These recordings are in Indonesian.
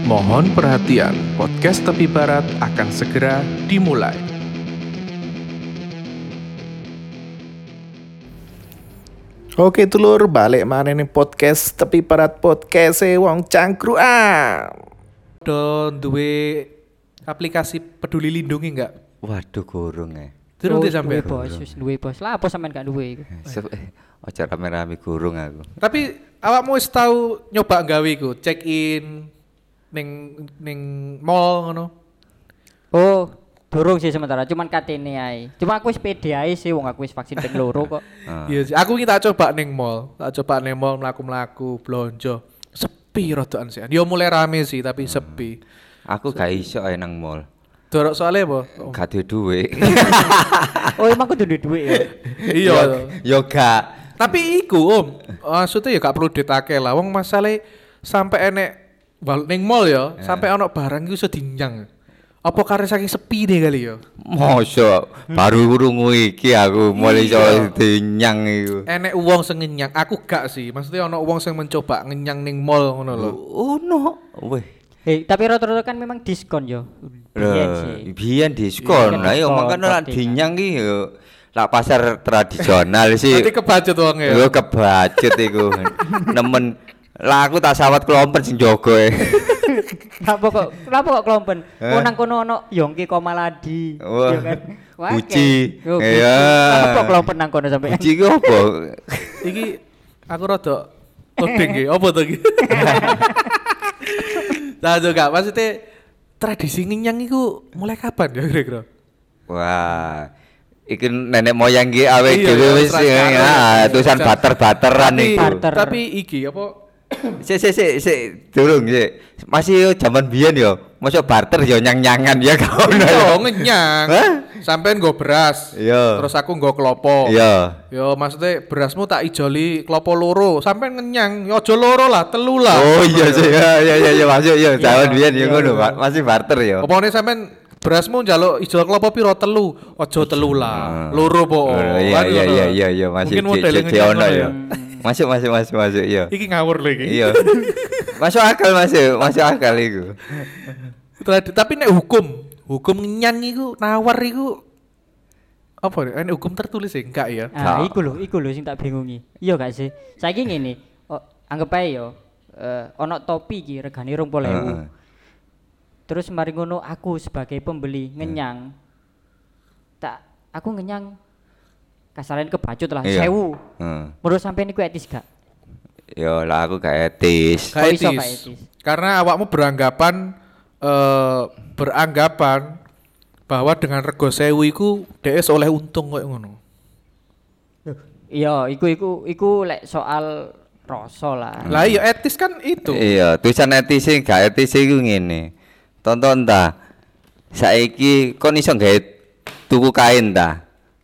Mohon perhatian, podcast Tepi Barat akan segera dimulai. Oke telur, balik mana nih podcast Tepi Barat podcast wong cangkru duwe aplikasi peduli lindungi enggak? Waduh kurung Terus dia sampai duwe bos. Lah apa sampean gak duwe iku? Ojo rame-rame kurung aku. Tapi awakmu wis tau nyoba gawe iku, check in ning mall ngono. Oh, durung sih sementara, cuman katene ae. Cuma aku wis pede ae sih wong aku wis vaksin ping 2 kok. Iya sih, aku iki tak coba ning mall. Mlaku-mlaku blonjo. Sepi rodokan sih. Yo mulai rame sih tapi sepi. Aku gak iso ae nang mall. Dorok soalnya apa? Gak duwe duit. Oh, emang kudu duwe duit ya. Iya. Yo gak. Tapi iku maksudnya ya gak perlu ditake lah. Wong masalah sampai enek ning mall ya, sampai ono barang iku iso dinyang. Apa karena saking sepi deh kali ya? Mosok baru krungu iki aku mulai iso dinyang iku. Enek wong sing ngenyang, aku gak sih. Maksudnya ono wong sing mencoba ngenyang ning mall ngono lho. Ono. Weh. Tapi rata-rata kan memang diskon yo. Biyen diskon. Lah yo makane lak dinyang ki yo lak pasar tradisional sih. Nanti kebacut wong ya. Yo kebacut iku. Nemen lah aku tak sawat kelompet sing jogo Kenapa kok kelompen? Nang kono ono Yongki Komaladi. Wah, ya kan. Guci. Iya. Kenapa kelompen nang kono sampe? Guci ki opo? Iki aku rada loading iki, opo to iki? Nah, juga maksudnya tradisi ngenyang iku mulai kapan ya kira-kira? Wah, iki nenek moyang ki awake Iya, dhewe wis tulisan bater-bateran Tapi- iku. Tapi iki apa? Sik durung sik. Masih zaman biyen yo. Mosok barter yo nyang-nyangan ya gak ono. Iya, ngenyang. Hah? Sampean nggo beras. Iya. Terus aku nggo klopo. Iya. Yo maksudnya berasmu tak ijoli klopo loro. Sampean ngenyang, yo aja loro lah, telu lah. Oh iya sih. Ya masuk yo zaman biyen yo ngono, Pak. Masih barter yo. Opone sampean berasmu njaluk ijol klopo piro telu? Aja telu lah. Loro po. Iya masih Mungkin modelnya di ono ngenyang yo. Masuk iya. Iki ngawur lho iki. Iya. Masuk akal iku. Tapi nek hukum ngenyang iku nawar iku apa nek nek hukum tertulis ya enggak ya? Iku lho sing tak bingungi. Iya gak sih? Saiki ngene, anggap ae yo ono topi iki regane 20.000. Terus mari ngono aku sebagai pembeli ngenyang. Aku ngenyang kasaran kebacut lah 1.000. Menurut sampean iku etis gak? Yo lah aku gak etis. Kok iso gak etis? Karena awakmu beranggapan bahwa dengan rego 1.000 iku DS oleh untung koyo ngono. Iya, iku lek soal rasa lah. Lah iya etis kan itu. Iya, tulisan etis sing gak etis iku ngene. Tonton ta. Saiki kon iso gawe tuku kain ta?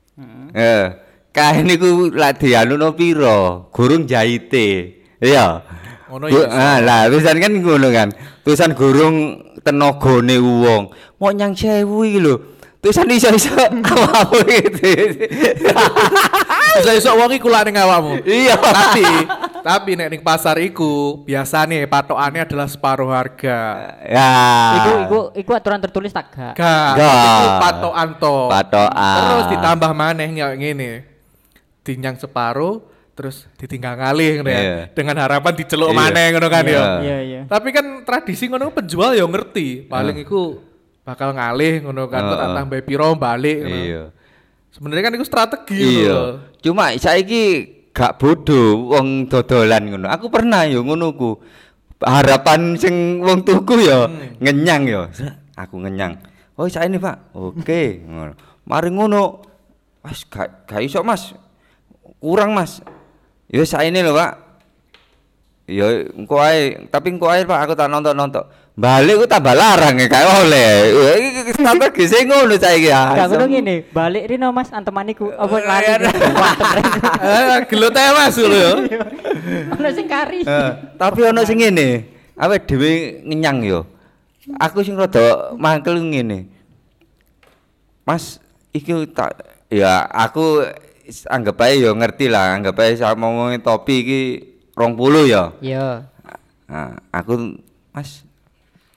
Kain iku lak dianuno piro? Gurung jahite. Iya. Ngono ya. Lah tulisan kan ngono kan. Tulisan gurung tenagane wong. Mau nyang 1.000 iki lho. Tulisan iso-iso awakmu gitu. Iso-iso wong iku lak ning awakmu. Iya. Tapi nek ning pasar iku biasane patokannya adalah separuh harga. Ya. Iku aturan tertulis tak gak? Gak. Iku patokan to. Patokan. Terus ditambah maneh ngene. Dinyang separuh terus ditinggal ngalih ngono ya. Iya. Dengan harapan diceluk Iya. maneh ngono kan ya. Iya. Tapi kan tradisi ngono penjual ya ngerti, paling iku bakal ngalih ngono kan, tak tambah piro balik ngono. Iya. Sebenarnya kan iku strategi Iya. ngono. Cuma saiki gak bodoh wong dodolan ngono. Aku pernah yo ngono ku. Harapan sing wong tuku yo ngenyang yo. Aku ngenyang. Oh, saiki Pak. Oke, ngono. Mari ngono. Mas gak iso Mas. Kurang Mas. Ya saiki lho Pak. Ya engko ae, tapi engko ae Pak aku tak nonton. Balik ku tambah larang ya gak oleh. Iki strategi sing ngono saiki ya. Gak ngono ngene, balik rino Mas antemaniku apa lari. Gelut ae Mas lho yo. Ono sing kari. Tapi ono sing ngene, awake dhewe ngenyang yo. Aku sing rada mangkel ngene. Mas, iki tak ya aku anggap ae yo ngerti lah, anggap ae sama ngomongin topi iki 20 ya. Iya. Nah, aku Mas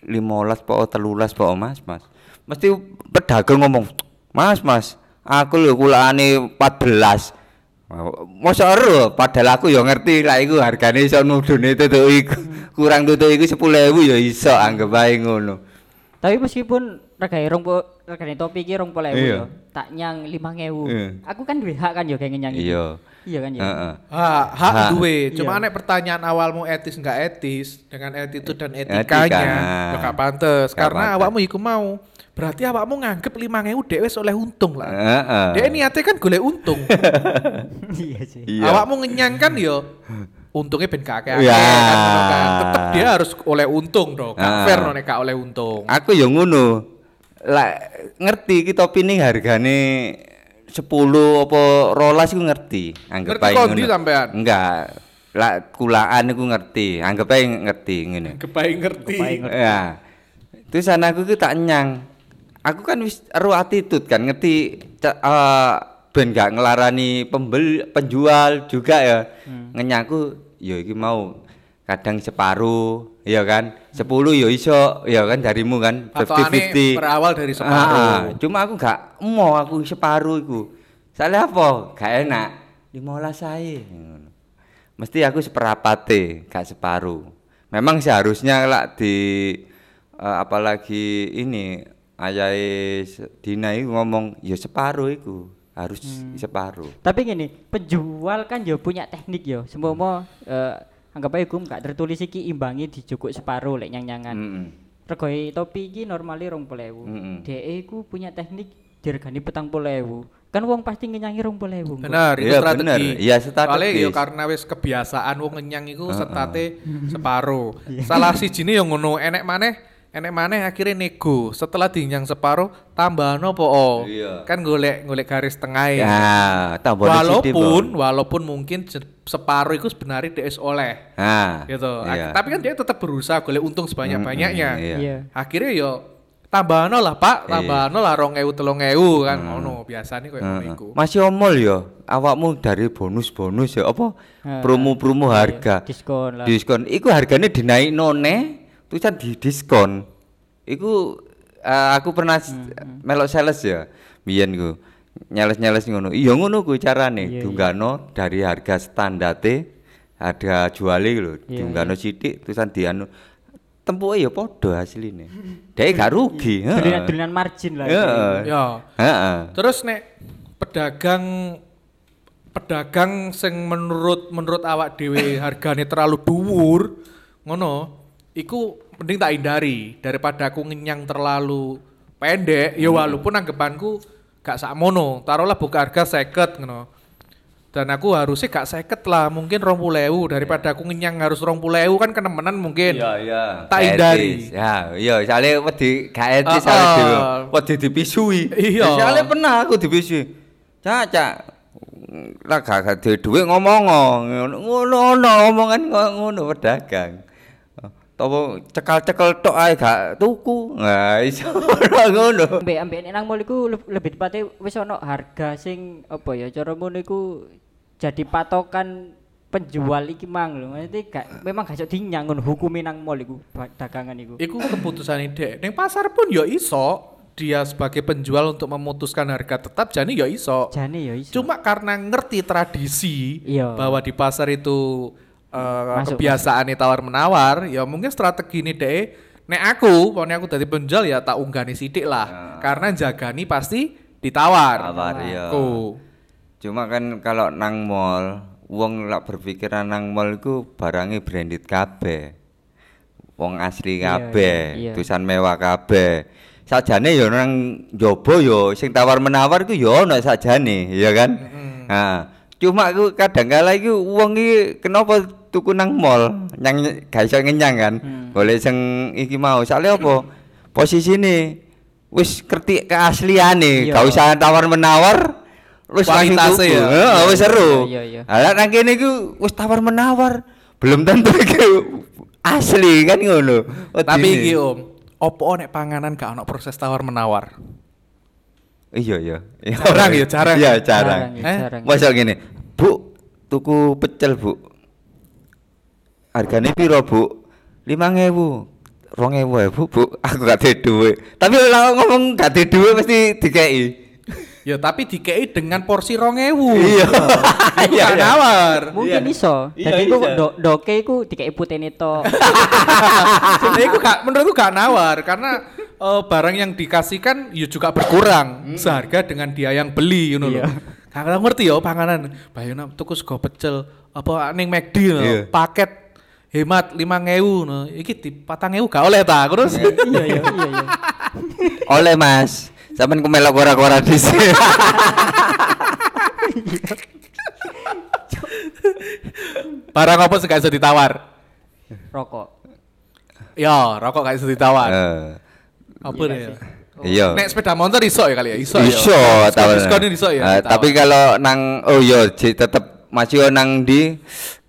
15 po 13 po Mas. Mesti pedagang ngomong, "Mas, aku lho kulane 14." Mosok ero padahal aku ya ngerti lek iku hargane iso nudune tutuk iku. Kurang tutuk iku 10.000 ya iso anggap ae ngono. Tapi meskipun regane topi iki 20.000 Iya. yo, tak nyang 5.000. Iya. Aku kan duwe hak kan yo kayak ngenyang iki. Iya. Iya kan ya. Heeh. Hak Hak. duwe. Cuma Iya. nek pertanyaan awalmu etis enggak etis dengan attitude dan Etika. etikanya ya gak pantes Gak karena pantes. awakmu iku mau. Berarti awakmu nganggep 5.000 dhek wis oleh untung lah. Heeh. Dhek niate kan golek untung. Iya sih. Iya. Awakmu ngenyang kan yo untungnya ben kakek Ya. kan ngono kan. Tetep dia harus oleh untung dong. Gak Ah. fair no nek gak oleh untung. Aku ya ngono. Lah ngerti iki topi ning hargane 10 apa 12 iku ngerti. Anggap Ngerti ae kondi ngono. sampean? Enggak. Lah kulaan iku ngerti. Anggap ae ngerti ngene. Kebaik ngerti. Kebaik ngerti. Ya. Terus anakku ku tak nyang. Aku kan wis ero attitude kan ngerti ben gak ngelarani penjual juga ya. Ngenyangku ya iki mau kadang separuh ya kan 10 ya iso ya kan darimu kan Patokane 50-50 berawal dari separuh. cuma aku gak mau aku separuh iku soalnya apa gak enak 15 ae ngono. Mesti aku seperapate gak separuh memang seharusnya lah di apalagi ini ayahe Dina iku ngomong ya separuh iku harus separuh. Tapi gini, penjual kan yo punya teknik yo. Semua anggap aja hukum gak tertulis iki imbangi dijukuk separuh lek nyang-nyangan. Regoi topi iki normale 20.000. Dhek iku punya teknik diregani 40.000. Kan wong pasti ngenyangi 20.000. Benar, itu Iya, strategi. bener. Iya, strategis. Soalnya yo karena wis kebiasaan wong ngenyang iku setate separuh. Salah sijine yo ngono, enek maneh akhirnya nego. Setelah dinyang separuh, tambahno po. Iya. Kan golek garis tengah Ya, tambah sithik, walaupun mungkin separuh itu sebenarnya DS oleh. Nah, Gitu. iya. Tapi kan dia tetap berusaha golek untung sebanyak-banyaknya. Iya. Iya. Akhirnya yo tambahno lah Pak, tambahno lah 2.000 3.000 kan ngono biasane koyo ngono iku. Masih omol ya, awakmu dari bonus-bonus ya apa promo-promo harga. Diskon lah. Diskon iku hargane dinaikno neh, tulisan di diskon. Iku aku pernah melok sales ya. Biyen ku nyales-nyales ngono. Iya ngono ku carane. Iya, Dunggano dari harga standarte harga juale lho. Iya, Dunggano sithik tulisan dianu tempuke ya padha asline. Dhek gak rugi, heeh. Dolinan margin lah. Heeh. Ya. Heeh. Terus nek pedagang sing menurut awak dhewe hargane terlalu dhuwur ngono iku mending tak hindari daripada aku ngenyang terlalu pendek ya walaupun anggapanku gak sakmono taruhlah buka harga 50 ngono dan aku harusnya gak 50 lah mungkin 20.000 daripada aku ngenyang harus 20.000 kan kenemenan mungkin Iya. Tak hindari. Ya, iya, soalnya wedi gak etis Ah, soalnya ah. wedi dipisui. Iya. Soalnya pernah aku dipisui. Cak. Lah gak duwe dhuwit ngomong ngono omongan ngono pedagang. Topo cekal-cekel tok ae gak tuku. Nah, iso ngono. Ambek nang mall iku lebih tepatnya wis ono harga sing apa ya cara ngono iku jadi patokan penjual iki mang lho. Maksudnya memang gak iso dinyang ngono hukume nang mall iku dagangan iku. Iku keputusan ide. Neng pasar pun ya iso. Dia sebagai penjual untuk memutuskan harga tetap jane ya iso. Jane ya iso. Cuma karena ngerti tradisi Iya. bahwa di pasar itu Masuk, kebiasaan tawar menawar, ya mungkin strategi ini deh. Nek aku dari penjual ya tak unggani sidik lah. Karena jagani pasti ditawar. Tawar, iya. Aku. Cuma kan kalau nang mall, wong lak berpikiran nang mall iku barangnya branded kabeh. Wong asli Iya, kabeh, iya. tulisan mewah kabeh. Sajane ya nang njaba ya sing tawar-menawar iku ya ono sajane, ya kan? Nah, cuma aku kadang kala iku wong iki kenapa tuku nang mall, nyang gak iso ngenyang kan. Golek sing iki mau. Soale apa? Posisine wis ngerti keasliane, Iya. gak usah tawar-menawar. Wis langsung Kualitasnya tuku. ya. Heeh, wis seru. Iya. Lah nang kene iku wis tawar-menawar, belum tentu iki asli kan ngono. Tapi Wedine. iki Om, opo nek panganan gak ono proses tawar menawar? Iya. Jarang ya, jarang. Iya, jarang. Jarang. Masa gini, Bu, tuku pecel, Bu. Hargane piro, Bu? 5.000. 2.000 Bu, aku gak ada duit. Tapi kalau ngomong gak ada duit mesti dikei. Ya tapi dikei dengan porsi 2.000. Iya. Iku gak nawar. Mungkin iso. Iya, Jadi ku iso. doke iku dikei putene tok. Jadi iku gak, menurutku gak nawar karena barang yang dikasihkan ya juga berkurang seharga dengan dia yang beli ngono lho. Iya. Kakak ngerti ya panganan. Bayangno tuku sego pecel apa ning McD no, Iya. paket hemat 5.000 no. Iki di 4.000 gak oleh ta terus. Iya. Oleh Mas. Sampeyan ku melok ora-ora dhisik. Barang apa sih gak iso ditawar? Rokok. Ya, rokok gak iso ditawar. Apa Iya nih? sih. Iya. Nek sepeda motor iso ya kali ya? Iso ya. Iso tawar. Diskon iso ya. Tapi kalau nang tetep masih nang di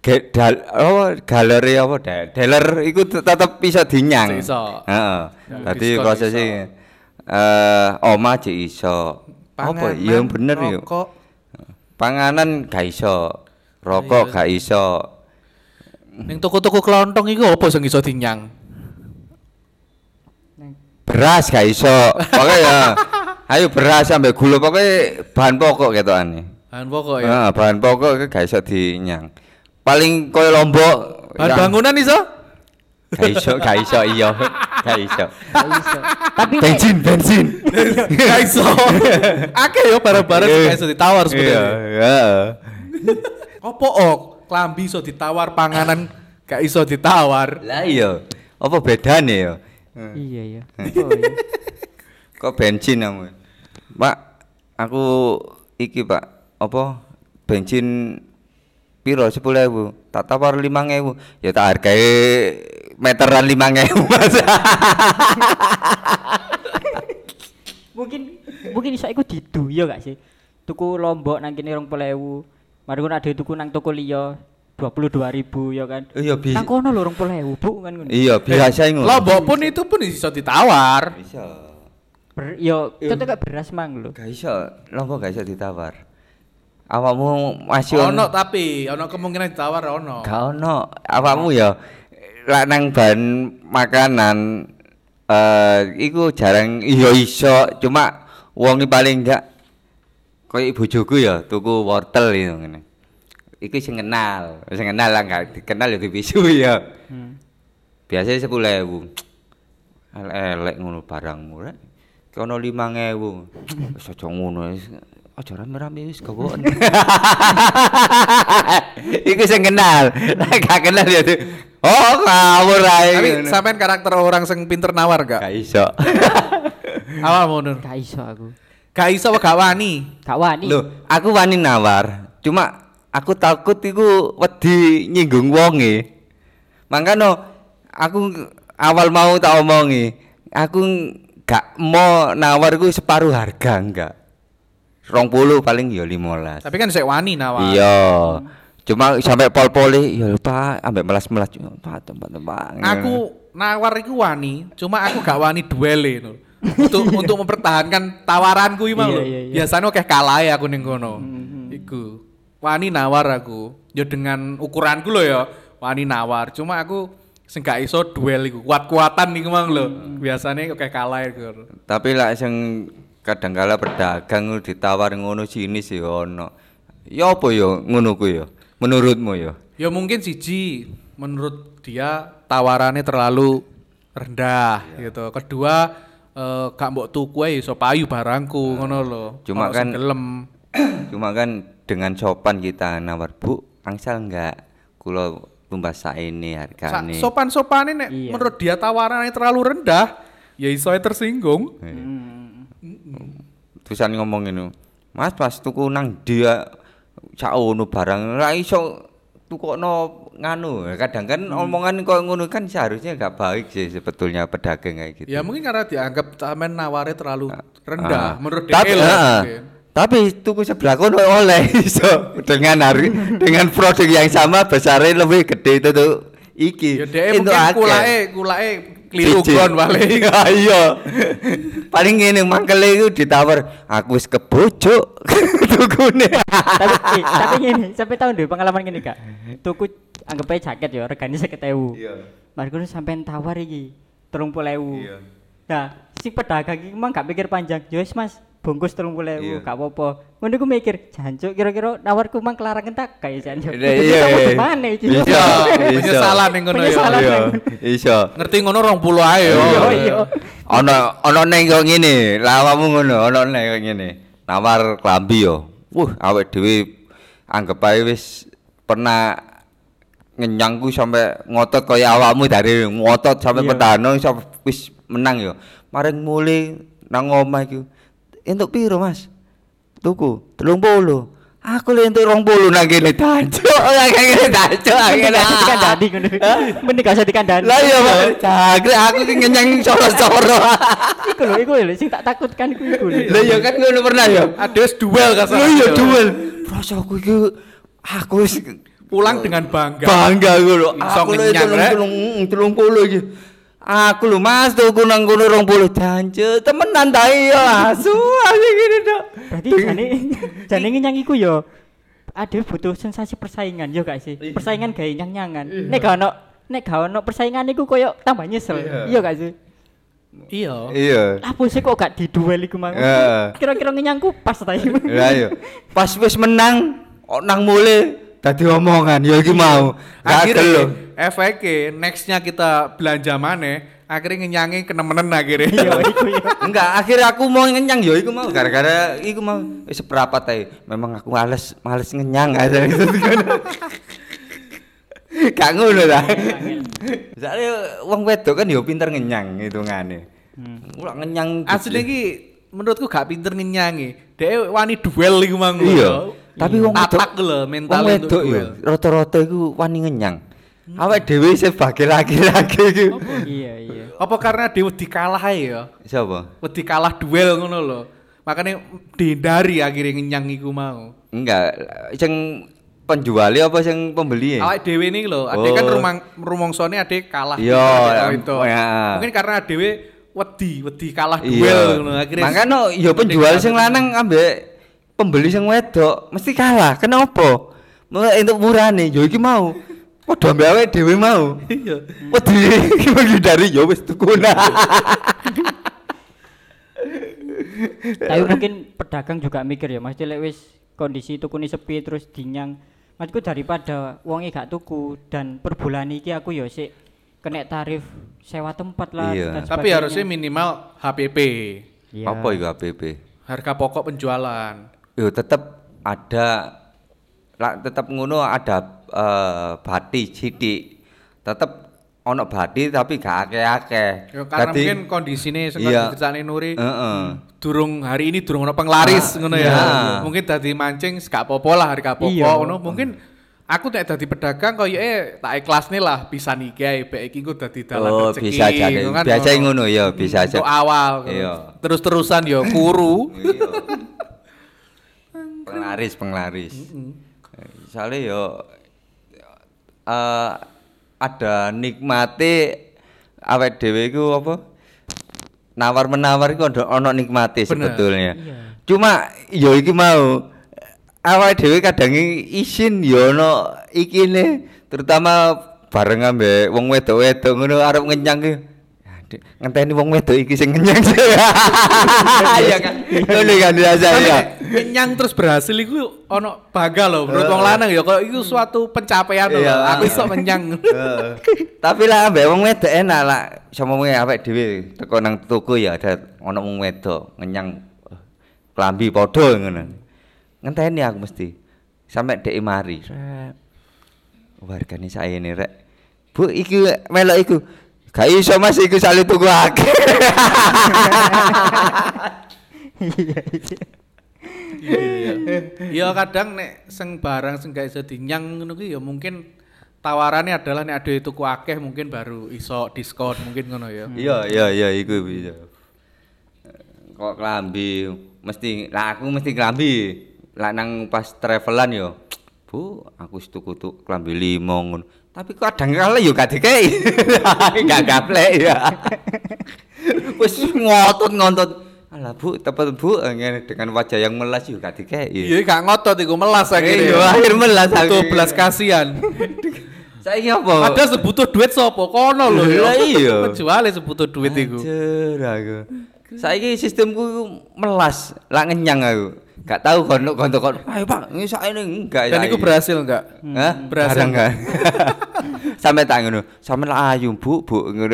galeri apa dealer iku tetep bisa dinyang. Iso. Heeh. Ya, Dadi diskon prosesnya oma aja iso. Apa Panganan, iya bener yo. rokok. Panganan gak iso. Rokok Iya. gak iso. Ning toko-toko kelontong iku apa sing iso dinyang? Beras gak iso. Pokoke ya. Ayo beras sampai gula pokoke bahan pokok ketokane. Bahan pokok ya. Bahan pokok gak iso dinyang. Paling koyo lombok Bahan bangunan iso? gak iso iya. Gak iso. Gak iso. Tapi nek Bensin. Gak iso. Akeh yo barang-barang sing gak iso ditawar Iya, sebenarnya. heeh. Opo klambi iso ditawar, panganan gak iso ditawar. Lah iya. Apa bedane ya? iya. Oh, iya. Kok bensin kamu? Pak, aku iki Pak, apa bensin piro 10.000, tak tawar 5.000, ya tak hargai meteran 5.000 Mas. Mungkin iso iku didu ya gak sih? Tuku lombok nang kene 20.000. Mari ngono ade tuku nang toko liya 22.000 ya kan. Iya Nang kono lho 20.000 Bu kan ngono. Iya biasa ngono. Lombok pun itu pun iso ditawar. Bisa. Yo tetep gak beras mang lho. Gak iso, lombok gak iso ditawar. Awakmu masih Ono tapi ono kemungkinan ditawar ono. gak ono. Awakmu ya lak nang bahan makanan iku jarang iya iso, cuma wong paling enggak koyo bojoku ya tuku wortel itu ngene. Iku sing kenal lah gak dikenal ya dipisu ya. Biasanya 10.000. Elek ngono barangmu rek. Kono 5.000. Wis aja ngono wis. Aja rame-rame wis gawon. Iku sing kenal. Gak kenal ya. Oh, ngawur ae. Tapi sampean karakter orang sing pinter nawar gak? gak iso. Awakmu Nur. Gak iso aku. Gak iso apa gak wani? Gak wani. Loh, aku wani nawar. Cuma aku takut iku wedi nyinggung wonge. Mangkano aku awal mau tak omongi, aku gak mau nawar iku separuh harga enggak. 20 paling ya 15. Tapi kan sik wani nawar. Iya. Cuma sampai pol-pole ya Pak, ambek melas-melas Pak tempat-tempat. Aku nawar iku wani, cuma aku gak wani duele Nur. Untuk mempertahankan tawaranku iki mau lho. Iya. Biasanya oke kalah ya aku ning kono. Iku. Wani nawar aku. Ya dengan ukuranku lho ya, wani nawar. Cuma aku sing gak iso duel iku. Kuat-kuatan iku mang lho. Biasanya oke kalah iku. Tapi lah sing kadangkala pedagang ditawar ngono jinis ya ono. Ya apa ya ngono ku ya? Menurutmu ya? Ya mungkin siji menurut dia tawarannya terlalu rendah gitu. Kedua gak mbok tuku ae iso payu barangku ngono lho. Cuma Ono kan sing gelem. Cuma kan dengan sopan kita nawar Bu, angsal enggak kula tumbas saene hargane. Sopan-sopane nek Iya. menurut dia tawarannya terlalu rendah, ya iso ae tersinggung. Terusan ngomong ini, Mas tuku nang dia saono barang ra iso tukokno nganu. Kadang kan omongan kok ngono kan seharusnya enggak baik sih sebetulnya pedagang kayak gitu. Ya mungkin karena dianggap sampean nawarnya terlalu rendah menurut Tapi dia lah mungkin. tapi tuku sebelah kono oleh iso dengan dengan produk yang sama besarnya lebih gede itu tuh iki. Ya dia Itu mungkin akeh. kulake keliru Siji. gon paling. Iya. Paling ngene mangkele iku ditawar, aku wis kebojo tukune. tapi ngene, sampai tahun deh pengalaman gini Kak. Tuku anggap aja jaket ya regane 50.000. Iya. Mari ngono sampean tawar iki 30.000. Iya. Nah, si pedagang iki emang gak mikir panjang. Ya wis Mas, bungkus 30.000 Iya. gak apa-apa. Ngono iku mikir, jancuk kira-kira nawarku mang kelarangan tak kae jancuk. Iya. Gimana iki? Iya. Penyesalan ning ngono ya. Penyesalan. Iya, iso. Ngerti ngono 20 ae yo. Iya. Ana neng kok ngene, lawamu ngono, ana neng kok ngene. Nawar klambi yo. Awake dhewe anggap ae wis pernah ngenyang ku sampe ngotot kaya awakmu dari ngotot sampe Iya. pedano iso wis menang yo. Maring mule nang omah iku. Entuk piro, Mas? Tuku 30. Aku le entuk 20 nang kene dancuk. Nang kene dancuk. Mending gak usah dikandani ngono. Mending gak usah dikandani. Lah iya, Mas. Jagre aku ki ngenyang soro-soro. Iku lho sing tak takutkan iku lho. Lah iya kan ngono pernah ya. Ada wis duel kasar. Lah iya duel. Rasaku iki aku wis Pulang dengan bangga. bangga ngono. Iso Aku ngenyang, Rek. 30 iki. Aku lho Mas tuku nang kono 20 jancuk. Temenan ta iya asu ngene tok. Berarti jane ngenyang iku ya ada butuh sensasi persaingan yo gak sih? Persaingan gawe nyang-nyangan. Nek gak ono persaingan iku koyo tambah nyesel. Iya gak sih? Iya. Iya. Apa sih kok gak diduel iku mang? Heeh. Kira-kira ngenyangku pas ta iki. Lah iya. Pas wis menang nang mule dadi omongan ya iki mau. Akhirnya efeknya nextnya kita belanja maneh akhirnya ngenyangi kenemenen akhirnya. Iya iku ya. Enggak, akhirnya aku mau ngenyang ya iku mau gara-gara iku mau wis seprapat ae. Memang aku males ngenyang aja gitu. Gak ngono ta. Soale wong wedok kan ya pinter ngenyang hitungane. Ora ngenyang. Asli iki menurutku gak pinter ngenyangi. Dhek wani duel iku mang. Iya. Tapi wong tatak lho mental wong untuk wedok ya duel. rata-rata iku wani ngenyang. Awake dhewe sebagai laki-laki iku. Iya. Apa karena dia wedi kalah ae ya? Siapa? Wedi kalah duel ngono lho. Makanya dihindari akhirnya ngenyang iku mau. Enggak, sing penjuali apa sing pembeli? Awake dhewe ini lho, ade kan rumongsone ade kalah. Iya, itu. ya. Mungkin karena dhewe wedi kalah Iya. duel ngono akhirnya. Makanya ya penjual sing lanang ambek pembeli sing wedok mesti kalah. Kenapa? Entuk murane ya iki mau. Padha ambek awake dhewe mau. Iya. Wedi menghindari ya wis tuku. Tapi mungkin pedagang juga mikir ya, Mas, lek wis kondisi tukune sepi terus dinyang. Maksudku daripada wonge gak tuku dan per bulan iki aku ya sik kena tarif sewa tempat lah Iya. dan Tapi sebagainya. harusnya minimal HPP. Iya. Apa iku APP? Harga pokok penjualan. Yo tetep ada tetep ngono ada bati sithik. Tetep ono bati tapi gak akeh-akeh. Ya, karena mungkin kondisine sing iya. diceritani Nuri. Heeh. Durung hari ini durung ono penglaris ngono ya. iya. Mungkin dadi mancing gak apa-apa lah harga pokok Iya. ngono. Mungkin aku nek dadi pedagang koyoke tak ikhlasne lah bisa iki ae bek iki ku dadi dalan Oh, rezeki. bisa jadi. ngono kan, Biasa ngono ya, bisa aja. Untuk awal. Iya. Terus-terusan ya kuru. Penglaris. Soalnya yo ada nikmate awake dhewe iku apa? Nawar-menawar iku ono nikmate sebetulnya. Iya. Cuma yo iki mau awake dhewe kadang isin yo ono ikine terutama bareng ambek wong wedok-wedok ngono arep ngenyang ki. Ngenteni wong wedok iki sing ngenyang. Iya kan. Ngono kan biasa ya. Kenyang terus berhasil iku ono bangga lho menurut wong lanang ya kalau iku suatu pencapaian lho. Iya. Aku iso kenyang. Tapi lah ambek wong wedok enak lah. Sama wong awake dhewe teko nang toko ya ada ono wong wedok ngenyang klambi padha ngono. Ngenteni aku mesti sampe dhek mari. Wargane saene rek. Bu iki melok iku. Gak iso Mas iku sale tuku akeh. Ya kadang nek sing barang sing gak iso dinyang ngono kuwi ya mungkin tawarannya adalah nek ade tuku akeh mungkin baru iso diskon mungkin ngono ya. Iya iku bisa. Kok klambi mesti lah aku mesti klambi. Lah nang pas travelan yo. Bu, aku wis tuku klambi 5 ngono. Tapi kadang kala yo gak dikei. Gak gaplek ya. Wis ngotot. Alah Bu, tepat Bu ngene dengan wajah yang melas yo gak dikei. Iya gak ngotot iku melas Iya, akhirnya. akhir melas aku. Tuh belas kasihan. Saiki apa? Ada sebutuh duit sapa kono lho ya. Lah iya. Penjuale sebutuh duit iku. Anjir aku. Saiki sistemku iku melas, lak ngenyang aku. Gak tahu kono ayo Pak, ini sakene enggak. Dan iku berhasil enggak? Hah? Berhasil enggak? Sampai tak ngono. Sampe lak ayu, Bu, ngono.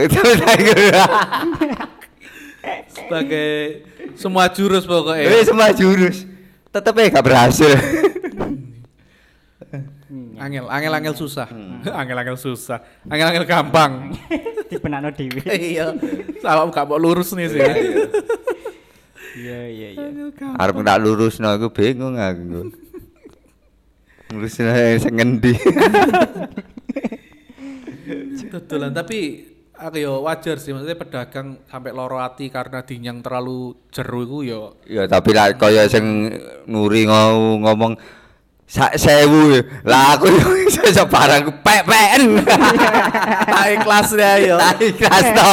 Sebagai semua jurus pokoknya. Semua jurus. Tetep gak berhasil. Angel susah. Angel susah. Angel gampang. Dibenakno dhewe. Iya. Awakmu gak mau lurus nih sih. Iya. Arep tak lurusno aku bingung aku. Lurusno sing ngendi. Dodolan tapi aku ya wajar sih maksudnya pedagang sampai loro ati karena dinyang terlalu jeru iku ya. Ya tapi lah kaya sing Nuri ngomong sak 1000 lah aku iso barang pek-peken. Tak ikhlas ya yo. Tak ikhlas to.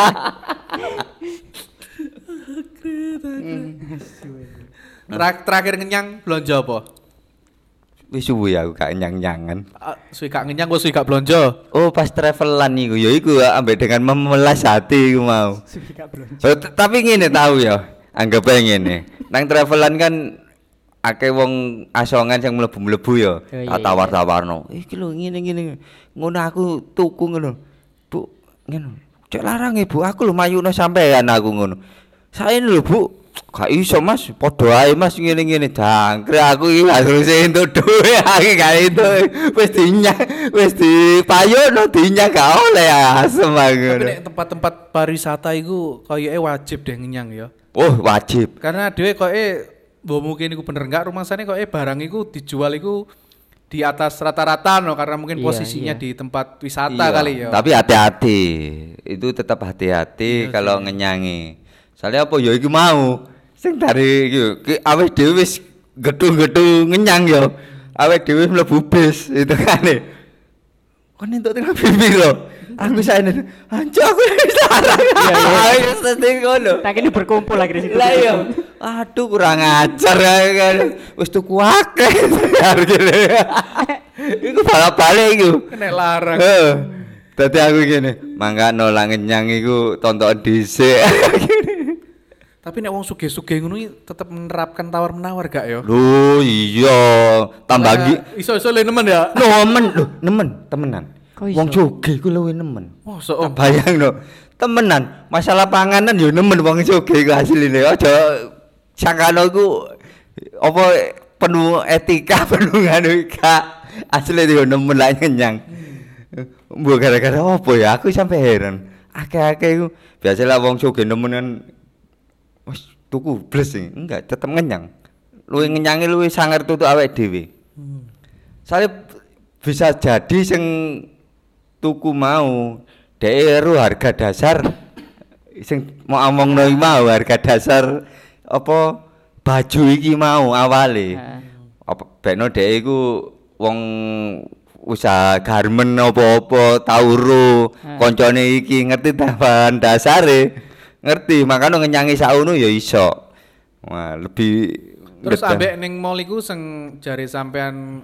Terakhir ngenyang belanja apa? Wis suwe aku gak nyang-nyangan. Suwi gak ngenyang kok suwi gak belanja. Oh pas travelan iku ya iku ambek dengan memelas hati iku mau. Suwi gak belanja. So, tapi ngene tahu ya, anggap ae ngene. Nang travelan kan akeh wong asongan sing mlebu-mlebu ya. Iya. Tawar-tawarno. Iki lho ngene. Ngono aku tuku ngono. Bu, ngono. Cek larang Bu, aku lho mayune sampean aku ngono. Saene lho Bu, gak iso Mas, padha ae Mas ngene-ngene. Jangkrik aku iki harus entuk duwe aku gak itu. Wis dipayokno dinyang gak oleh asem aku. Tapi nek tempat-tempat pariwisata iku koyoke wajib deh ngenyang ya. Oh, wajib. Karena dhewe koke mbok mungkin iku bener enggak rumasane koke barang iku dijual iku di atas rata-rata no karena mungkin Iya, posisinya iya. di tempat wisata Iya, kali ya. tapi hati-hati. Itu tetap hati-hati Iya kalau sih. ngenyangi. Soalnya apa ya iki mau sing dari iki awake dhewe wis gedung-gedung ngenyang ya. Awake dhewe mlebu bis itu kan. Kon entuk tengah pipi lho. Aku saene anjuk aku wis larang. Iya, sedih ngono. Tak ini berkumpul lagi di situ. Lah iya. Aduh kurang ajar kan. Wis tuku akeh. Iku balik-balik iku. Kena larang. Heeh. Dadi aku ngene, mangga nolak ngenyang iku tonton dhisik. Tapi nek wong sugih-sugih ngono iki tetep menerapkan tawar-menawar gak ya? Lho iya, tambah iki. Iso-iso le nemen ya. Nemen temenan. Kok iso? Wong sugih ku luwih nemen. Mosok Tak bayangno. Temenan, masalah panganan yo nemen wong sugih ku asline. Aja sangkano ku apa penuh etika, penuh nganu gak. Asline yo nemen lah ngenyang. Mbok gara-gara apa ya? Aku sampai heran. Akeh-akeh iku biasalah wong sugih nemen kan wis tuku bles sih. Enggak, tetep ngenyang. Luwih ngenyange luwih sangar tutuk awake dhewe. Soale bisa jadi sing tuku mau dhek ero harga dasar sing mau omongno iki mau harga dasar apa baju iki mau awale. Apa bekno dhek iku wong usaha garmen apa-apa tau ro koncone iki ngerti bahan dasare. Ngerti, makanya ngenyangi sauno ya iso. Wah, lebih terus ngedah. ambek ning mall iku sing jare sampean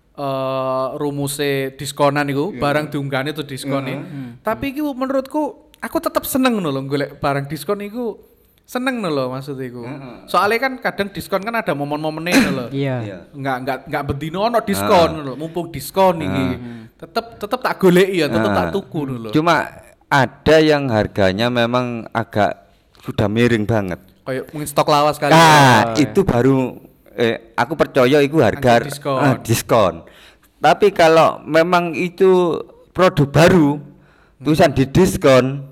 rumuse diskonan iku, barang diunggahne tuh diskone. Tapi iku menurutku aku tetep seneng ngono lho golek barang diskon iku. Seneng ngono lho maksud iku. Soalnya kan kadang diskon kan ada momen-momene ngono lho. Iya. Enggak bendino ono diskon ngono lho, mumpung diskon iki. Tetep tak goleki ya, tetep tak tuku ngono lho. Cuma ada yang harganya memang agak sudah miring banget. Kayak mungkin stok lawas kali. Nah, itu baru aku percaya itu harga Angka diskon. diskon. Tapi kalau memang itu produk baru, tulisan di diskon,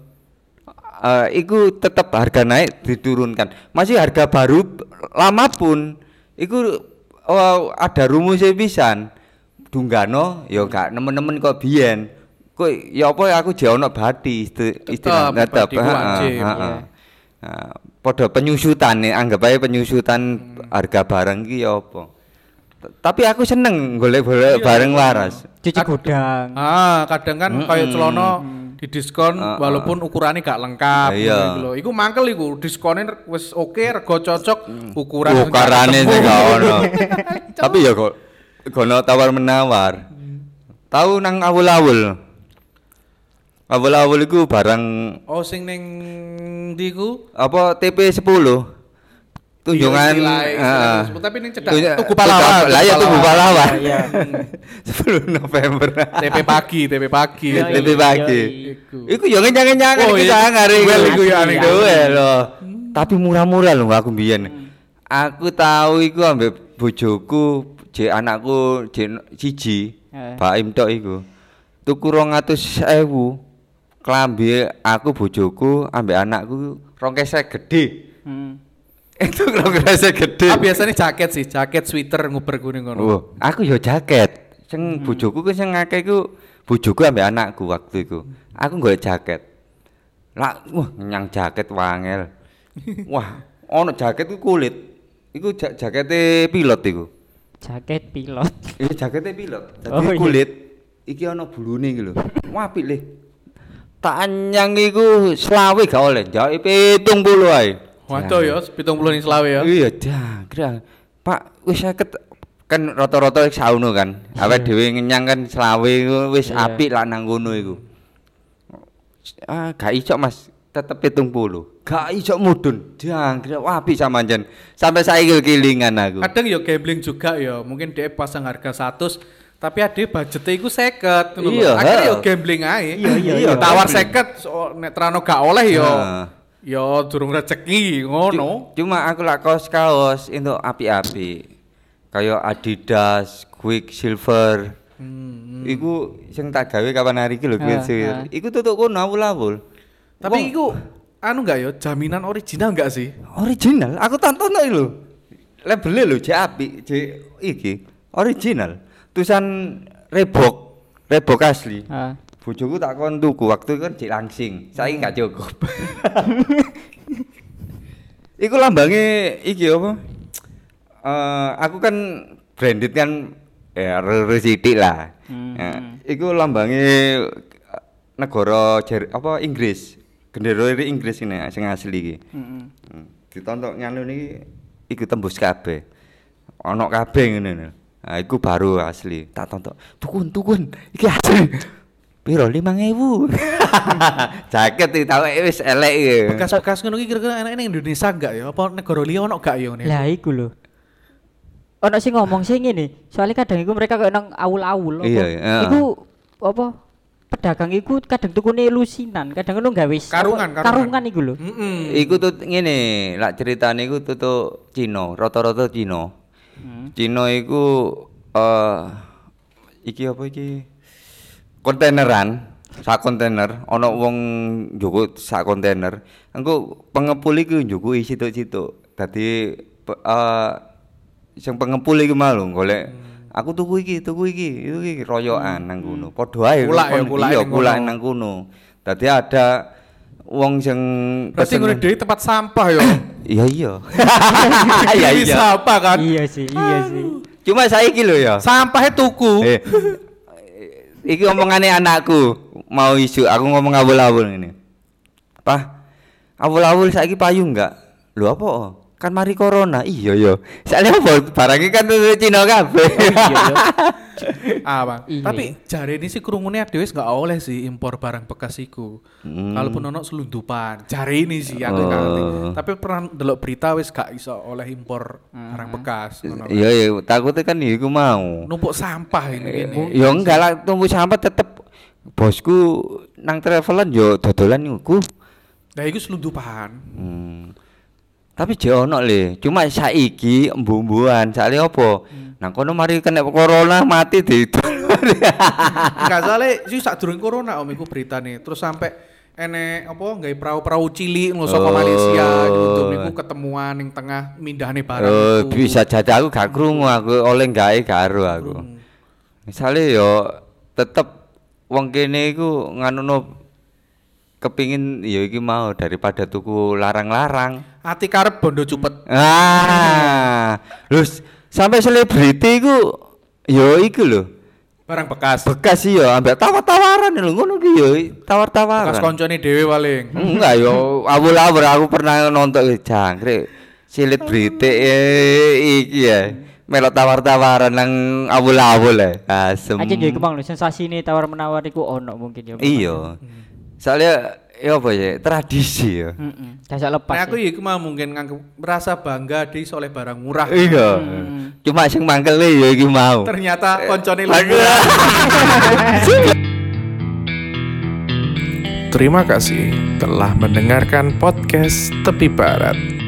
itu tetap harga naik diturunkan. Masih harga baru lama pun, itu ada rumusnya pisan. Dunggano, ya gak nemen-nemen kok biyen. Kok ya apa aku jek ono bati istilah bati ku wajib, iya. Padha penyusutan nih, anggap aja penyusutan harga barang ki ya apa. Tapi aku seneng golek-golek barang waras. Cuci gudang. Kadang kan kayak celana di diskon walaupun ukurannya gak lengkap Iya. gitu lho. Iku mangkel iku diskonnya wis oke, rego cocok, ukuran Ukarane sing gak ono. Tapi ya kok gono tawar menawar. Tahu nang awul-awul. Awul-awul iku barang Oh sing ning ndi ku? apa TP 10. Tunjungan tapi ning cedak tunjuk- Tugu Pahlawan. Lah ya Tugu Pahlawan. Iya. 10 November. TP pagi. Iya, TP pagi. Iku. Iku yo ngenyang-ngenyangan Oh, iki iya. sangar iku. Duel iku ya, aneh. Duel loh. Tapi murah-murah lho aku mbiyen. Aku tahu iku ambek bojoku, jek anakku jek siji. Baim tok iku. Tuku 200.000. Klambi aku bojoku ambek anakku 2 gede. Itu 2 gede. Ah biasanya jaket sih, jaket sweater nguber kuning ngono. Oh, aku yo jaket. Sing bojoku ku sing akeh iku bojoku ambek anakku waktu iku. Aku nggo jaket. Lah, wah nyang jaket wangel. Wah, ono jaket ku kulit. Iku jakete pilot iku. Jaket pilot. Iki jakete pilot. Dadi Oh, iya. kulit. Iki ono bulune iki lho. Wah, apik le. Tak anyang iku 20 gak oleh, jauh 70 ae. Waduh ya, 70 ning selawe ya. Iya, jangkrik. Pak, wis 50 kan rata-rata sauno kan. Awake dhewe ngenyang kan 20 wis Iya. apik lah nang kono iku. Ah, gak iso Mas, tetep 70. Gak iso mudun. Jangkrik apik samanjen. Sampai saiki kelingan aku. Kadang ya gambling juga ya, mungkin dia pasang harga 100 tapi ade budgetnya iku 50 ngono lho. Iya, Akhirnya ya heeh. gambling ae. Iya, Tawar gambling. 50 nek terano gak oleh ya. Heeh. Ya durung rezeki ngono. Cuma aku lak kaos-kaos entuk apik-apik. Kayak Adidas, Quicksilver. Iku sing tak gawe kapan hari iki lho Quicksilver. Iku tutuk kono awul-awul. Tapi Wong- iku anu enggak ya, jaminan original enggak sih? original, aku tonton lho. Labelnya lho jek apik, jek iki original. Tulisan Reebok asli. Ah. Bojoku tak kon tuku waktu kan jek langsing. Saiki gak cukup. Iku lambange iki apa? Aku kan branded kan ya sithik lah. Iku lambange negara apa Inggris. Gendera Inggris ini sing asli iki. Ditonton nganu niki iku tembus kabeh. Ana kabeh ngene lho. Nah, iku baru asli. Tak tonton. Tukun. Iki asli. Piro 5.000. Jaket iki tau wis elek iki. Bekas-bekas ngono iki kira-kira enak ning Indonesia enggak ya? Apa negara liya ono gak ya ngene? Lah iku lho. Ono sing ngomong sing ngene, soalnya kadang iku mereka kayak nang awul-awul apa. Iya, iya. Iku apa? Pedagang iku kadang tukune lusinan, kadang ngono gawe karungan iku lho. Iku tuh ngene, lak ceritane iku tutuk Cina, rata-rata Cina. Cina iku iki apa iki? Kontaineran, sak kontainer, ana wong njukuk sak kontainer. Engko pengepul iku njukuki situk-situk. Dadi sing pengepul iku malu golek aku tuku iki royokan nang kono. Padha ae kulak nang kono. Dadi ada wong sing Berarti ngono dhewe tempat sampah ya. iya. Iya iya. Sampah kan. Iya sih. Cuma saiki lho ya. Sampahnya tuku. Iki omongane anakku mau isu aku ngomong awul-awul ngene. Pah, awul-awul saiki payu enggak? Lho apa? Kan mari corona. Iya ya. Soalnya apa barangnya kan dari Cina kabeh. Bang. Iya. Tapi jare ini sih kerungune dhewe enggak oleh sih impor barang bekas iku. Kalaupun ono selundupan, jare ini sih aku gak ngerti. Tapi pernah delok berita wis gak iso oleh impor barang bekas ngono. Iya, takutnya kan iku mau. Numpuk sampah ini gini. Ya enggak lah, tumbuh sampah tetep bosku nang travelan yo dodolan iku. Lah iku selundupan. Tapi jek ono le, cuma saiki embu-embuan, sakle opo? Nang kono mari kena corona mati di. Enggak soalnya sih sadurunge corona om iku beritane. Terus sampai enek apa gawe perahu-perahu cilik ngono saka Malaysia untuk niku ketemuan ning tengah mindahane barang Oh, itu. bisa jadi aku gak krungu aku oleh gawe karo aku. Misale yo tetep wong kene iku nganuno kepingin ya iki mau daripada tuku larang-larang. Ati karep bondo cupet. Lho sampai selebriti iku yo iku lho. Barang bekas. Bekas iya ambek tawar-tawaran lho ngono ki yo tawar-tawaran. Bekas koncone dhewe paling. Enggak yo awul-awul aku pernah nonton jangkrik selebriti iki ya. melok tawar-tawaran nang awul-awul asem. Aja nggih kemang lho sensasine tawar-menawar iku ono mungkin ya. Iya. Soalnya ya apa ya tradisi ya. Dasar lepas. Nah, aku ya iku mah mungkin merasa bangga di oleh barang murah. Iya. Cuma sing mangkele ya iki mau. Ternyata koncone lebih. Terima kasih telah mendengarkan podcast Tepi Barat.